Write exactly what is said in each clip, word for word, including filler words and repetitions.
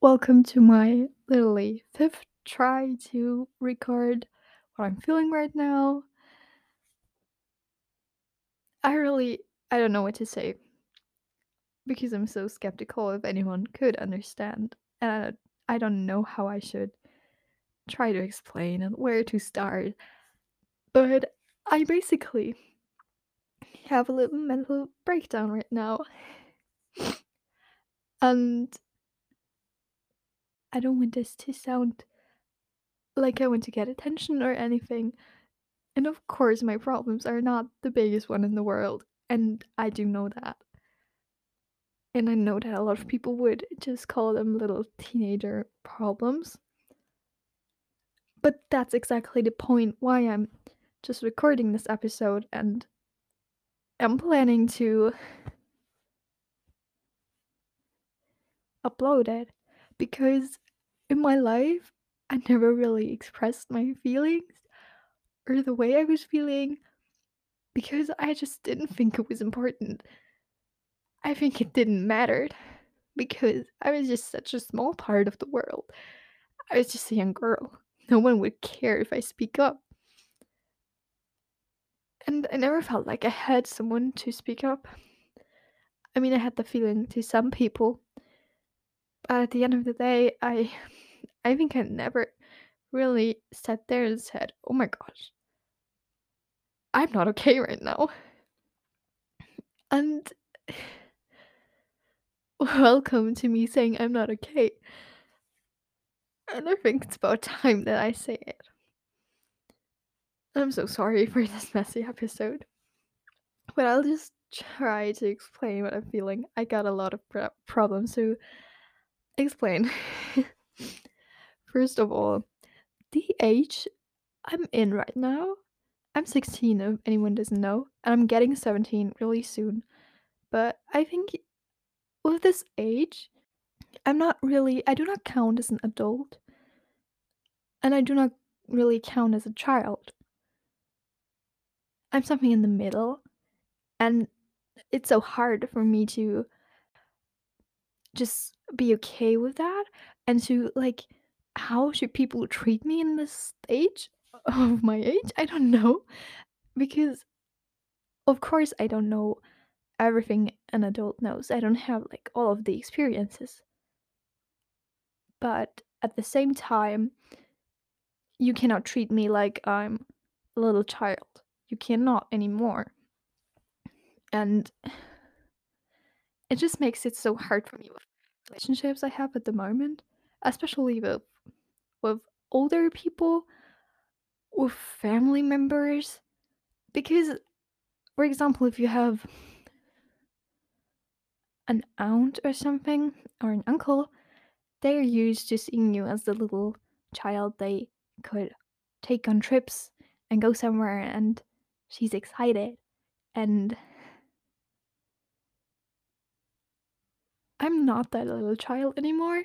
Welcome to my literally fifth try to record what I'm feeling right now. I really I don't know what to say because I'm so skeptical if anyone could understand. And I don't, I don't know how I should try to explain and where to start. But I basically have a little mental breakdown right now. And I don't want this to sound like I want to get attention or anything. And of course, my problems are not the biggest one in the world, and I do know that. And I know that a lot of people would just call them little teenager problems. But that's exactly the point why I'm just recording this episode, and I'm planning to upload it because in my life, I never really expressed my feelings or the way I was feeling because I just didn't think it was important. I think it didn't matter because I was just such a small part of the world. I was just a young girl. No one would care if I speak up. And I never felt like I had someone to speak up. I mean, I had the feeling to some people, but at the end of the day, I I think I never really sat there and said, "Oh my gosh, I'm not okay right now." And welcome to me saying I'm not okay. And I think it's about time that I say it. I'm so sorry for this messy episode. But I'll just try to explain what I'm feeling. I got a lot of pro- problems to explain. First of all, the age I'm in right now, I'm sixteen, if anyone doesn't know, and I'm getting seventeen really soon. But I think with this age, I'm not really, I do not count as an adult, and I do not really count as a child. I'm something in the middle, and it's so hard for me to just be okay with that and to like how should people treat me in this stage of my age? I don't know because of course I don't know everything an adult knows. I don't have like all of the experiences. But at the same time, you cannot treat me like I'm a little child. You cannot anymore. And it just makes it so hard for me with relationships I have at the moment, especially with with older people, with family members. Because, for example, if you have an aunt or something, or an uncle, they're used to seeing you as the little child they could take on trips and go somewhere, and she's excited. And I'm not that little child anymore.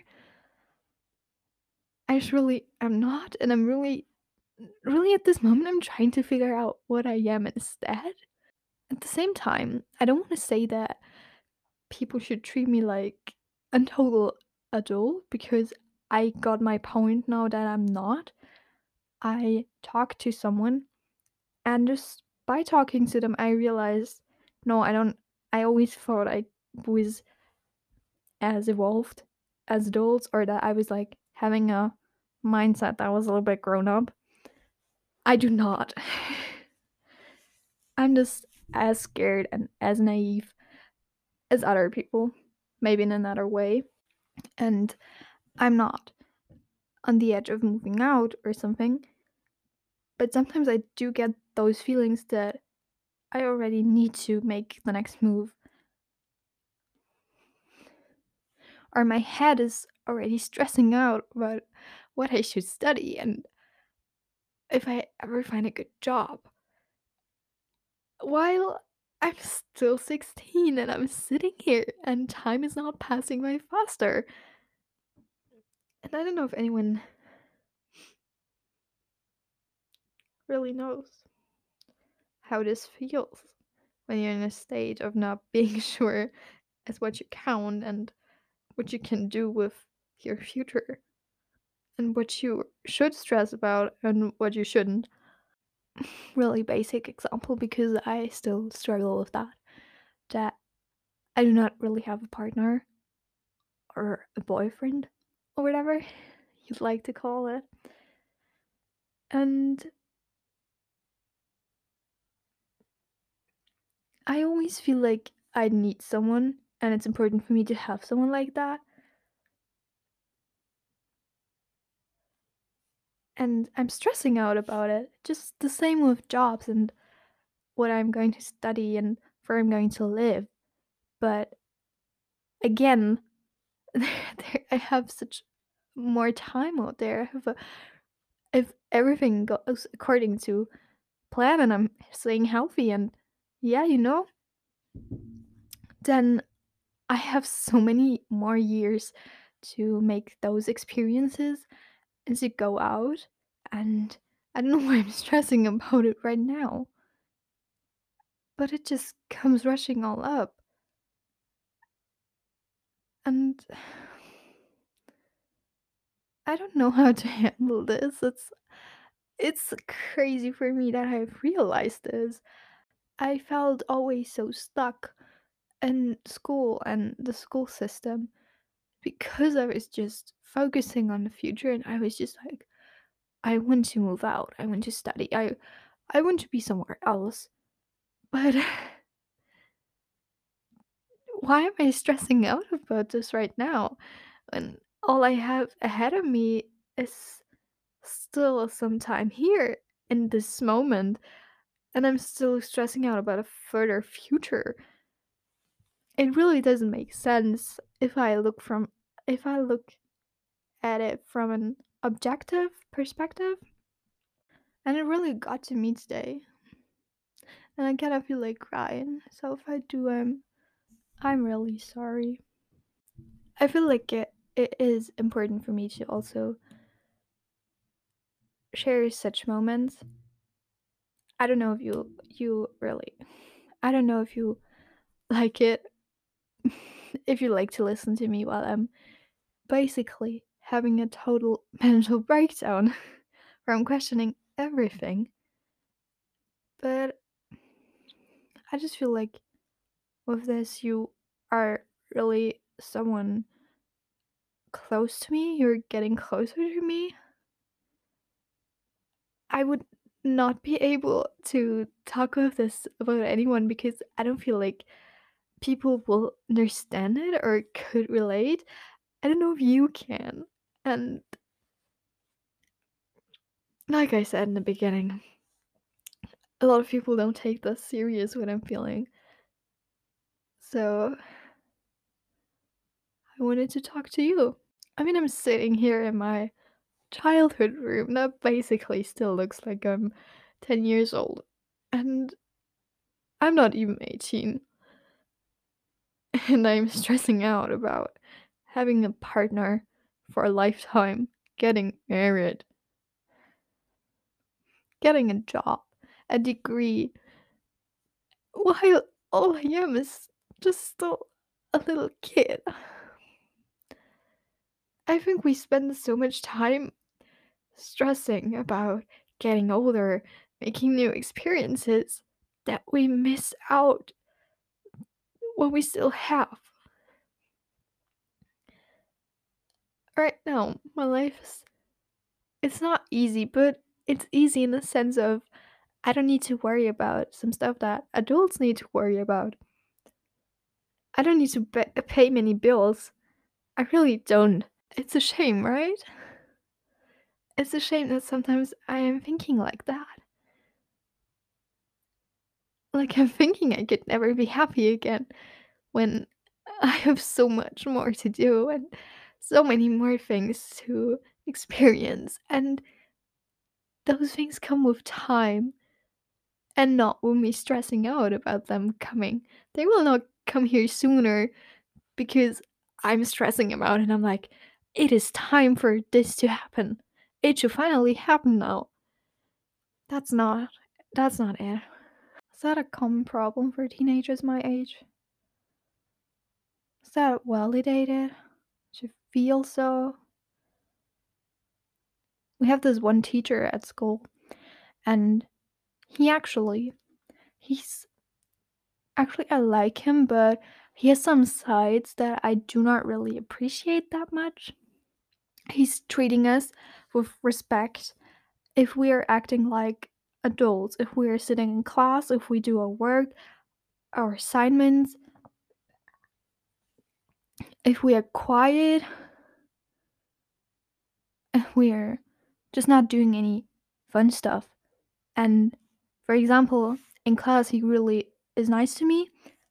I just really am not, and I'm really, really at this moment, I'm trying to figure out what I am instead. At the same time, I don't want to say that people should treat me like a total adult because I got my point now that I'm not. I talked to someone, and just by talking to them, I realized no, I don't. I always thought I was as evolved as adults, or that I was like having a mindset that was a little bit grown up. I do not. I'm just as scared and as naive as other people, maybe in another way. And I'm not on the edge of moving out or something. But sometimes I do get those feelings that I already need to make the next move, or my head is already stressing out about what I should study and if I ever find a good job. While I'm still sixteen and I'm sitting here and time is not passing by faster. And I don't know if anyone really knows how this feels when you're in a state of not being sure as what you count and what you can do with your future and what you should stress about and what you shouldn't. Really basic example because I still struggle with that. That I do not really have a partner or a boyfriend or whatever you'd like to call it. And I always feel like I need someone and it's important for me to have someone like that. And I'm stressing out about it. Just the same with jobs and what I'm going to study and where I'm going to live. But again, there, I have such more time out there. I have a, if everything goes according to plan and I'm staying healthy and yeah, you know, then I have so many more years to make those experiences and to go out. And I don't know why I'm stressing about it right now, but it just comes rushing all up. And I don't know how to handle this. It's it's crazy for me that I've realized this. I felt always so stuck in school and the school system because I was just focusing on the future and I was just like, I want to move out. I want to study. I I want to be somewhere else. But why am I stressing out about this right now when all I have ahead of me is still some time here in this moment and I'm still stressing out about a further future. It really doesn't make sense if I look from if I look at it from an objective perspective. And it really got to me today. And I kind of feel like crying. So if I do, I'm I'm really sorry. I feel like it it is important for me to also share such moments. I don't know if you you really I don't know if you like it if you like to listen to me while I'm basically having a total mental breakdown where I'm questioning everything. But I just feel like with this you are really someone close to me, you're getting closer to me. I would not be able to talk with this about anyone because I don't feel like people will understand it or could relate. I don't know if you can. And like I said in the beginning, a lot of people don't take this serious what I'm feeling. So I wanted to talk to you. I mean, I'm sitting here in my childhood room that basically still looks like I'm ten years old. And I'm not even eighteen. And I'm stressing out about having a partner for a lifetime, getting married, getting a job, a degree, while all I am is just still a little kid. I think we spend so much time stressing about getting older, making new experiences, that we miss out what we still have. Right now, my life is it's not easy, but it's easy in the sense of I don't need to worry about some stuff that adults need to worry about. I don't need to ba- pay many bills. I really don't. It's a shame, right? It's a shame that sometimes I am thinking like that. Like I'm thinking I could never be happy again when I have so much more to do and so many more things to experience. And those things come with time and not with me stressing out about them coming. They will not come here sooner because I'm stressing about it and I'm like, it is time for this to happen. It should finally happen now. That's not that's not it. Is that a common problem for teenagers my age? Is that validated? feel so. We have this one teacher at school, and he actually he's actually I like him, but he has some sides that I do not really appreciate that much. He's treating us with respect if we are acting like adults, if we are sitting in class, if we do our work, our assignments, if we are quiet, if we are just not doing any fun stuff. And for example, in class, he really is nice to me,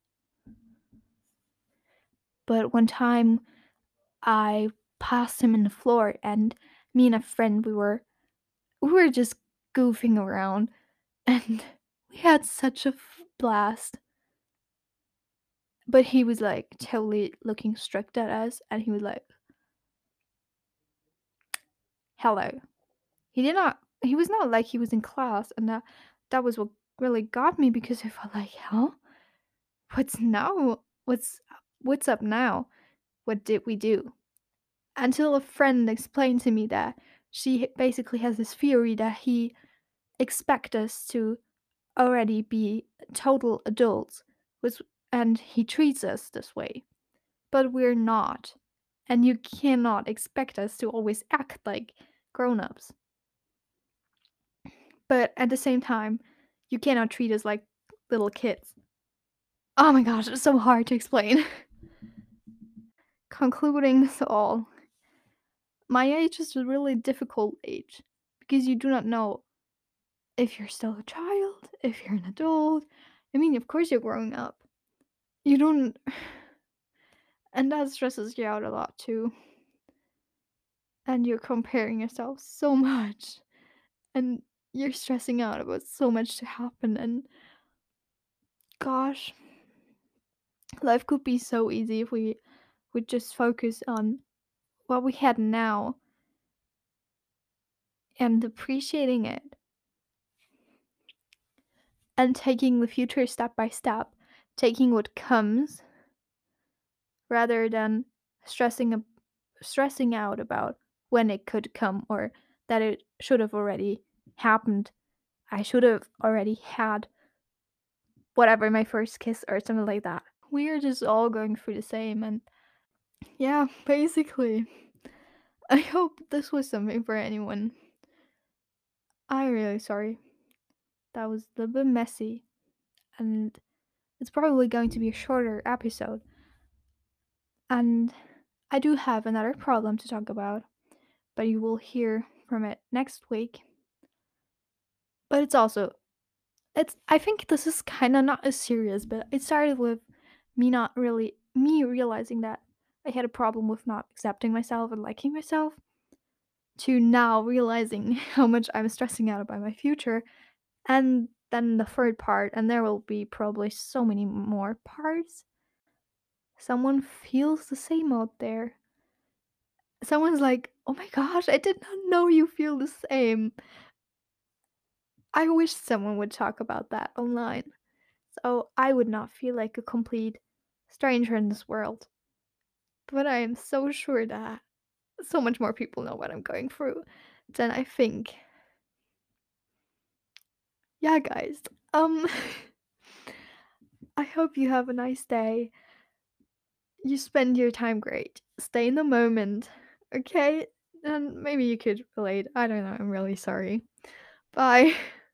but one time I passed him in the floor, and me and a friend, we were we were just goofing around, and we had such a f- blast. But he was like totally looking strict at us, and he was like, "Hello." He did not. He was not like he was in class, and that that was what really got me because I felt like, huh? What's now? What's what's up now? What did we do? Until a friend explained to me that she basically has this theory that he expect us to already be total adults, was and he treats us this way, but we're not. And you cannot expect us to always act like grown-ups. But at the same time, you cannot treat us like little kids. Oh my gosh, it's so hard to explain. Concluding this all, my age is a really difficult age because you do not know if you're still a child, if you're an adult. I mean, of course you're growing up. You don't, and that stresses you out a lot too. And you're comparing yourself so much, and you're stressing out about so much to happen. And gosh, life could be so easy if we would just focus on what we had now and appreciating it and taking the future step by step, taking what comes rather than stressing ab- stressing out about when it could come or that it should have already happened. I should have already had whatever my first kiss or something like that. We are just all going through the same, and yeah, basically. I hope this was something for anyone. I'm really sorry. That was a little bit messy, and it's probably going to be a shorter episode. And I do have another problem to talk about, but you will hear from it next week. But it's also it's I think this is kind of not as serious, but it started with me not really me realizing that I had a problem with not accepting myself and liking myself to now realizing how much I'm stressing out about my future. And then the third part, and there will be probably so many more parts. Someone feels the same out there. Someone's like, "Oh my gosh, I did not know you feel the same." I wish someone would talk about that online, so I would not feel like a complete stranger in this world. But I am so sure that so much more people know what I'm going through than I think. Yeah, guys. Um, I hope you have a nice day. You spend your time great. Stay in the moment, okay? And maybe you could relate. I don't know. I'm really sorry. Bye.